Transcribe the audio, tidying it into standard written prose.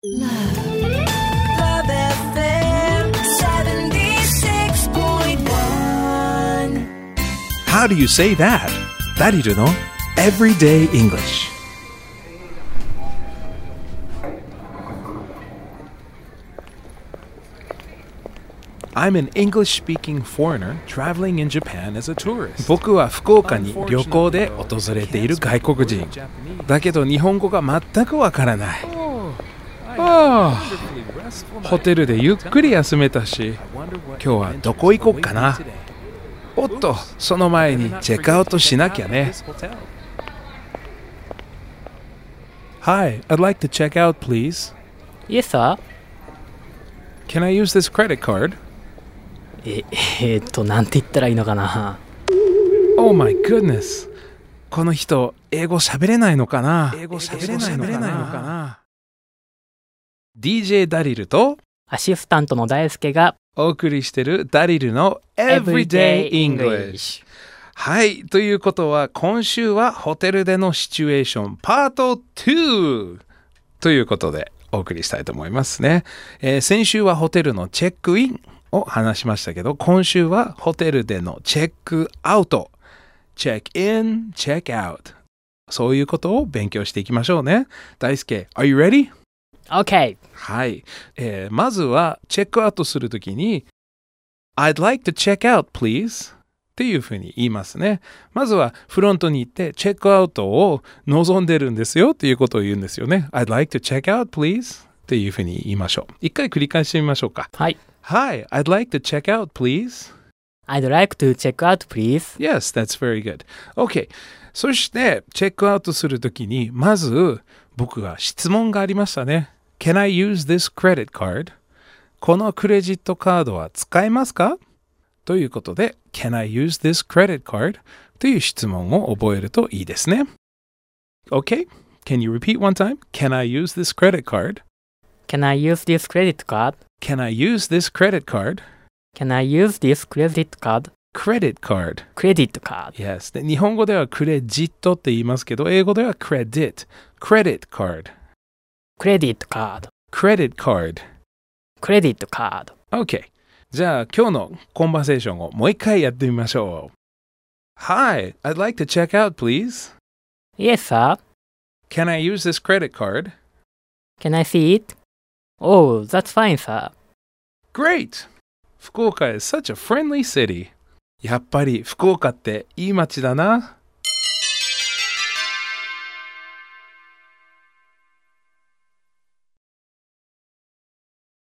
Love FM 76.1. How do you say that? ダリルの Everyday English。I'm an English-speaking foreigner traveling in Japan as a tourist. 僕は福岡に旅行で訪れている外国人。だけど日本語が全くわからない。ホテルでゆっくり休めたし、今日はどこ行こうかな。おっと、その前にチェックアウトしなきゃね。Hi, I'd like to check out, please. Yes, sir. Can I use this credit card? なんて言ったらいいのかな。 Oh my goodness. この人、英語喋れないのかな。DJ ダリルとアシスタントの大輔がお送りしてるダリルの Everyday English。はい、ということは今週はホテルでのシチュエーションパート2ということでお送りしたいと思いますね。先週はホテルのチェックインを話しましたけど、今週はホテルでのチェックアウト、チェックイン、チェックアウト、そういうことを勉強していきましょうね。大輔、Are you ready? OK。 はい、まずはチェックアウトするときに I'd like to check out, please っていうふうに言いますね。まずはフロントに行ってチェックアウトを望んでるんですよっていうことを言うんですよね。I'd like to check out, please っていうふうに言いましょう。一回繰り返してみましょうか。 はい。 Hi, I'd like to check out, please. I'd like to check out, please. Yes, that's very good. OK。そしてチェックアウトするときにまず僕が質問がありましたね。Can I use this credit card? このクレジットカードは使えますかということで Can I use this credit card? という質問を覚えるといいですね。OK? Can you repeat one time? Can I use this credit card? Can I use this credit card? Can I use this credit card? Can I use this credit card? Credit card. Credit card. Yes. で日本語ではクレジットって言いますけど、英語では credit. Credit card. Credit card. Credit card. Credit card. OK。じゃあ今日のコンバセーションをもう一回やってみましょう。Hi, I'd like to check out, please. Yes, sir. Can I use this credit card? Can I see it? Oh, that's fine, sir. Great! 福岡 is such a friendly city. やっぱり福岡っていい街だな。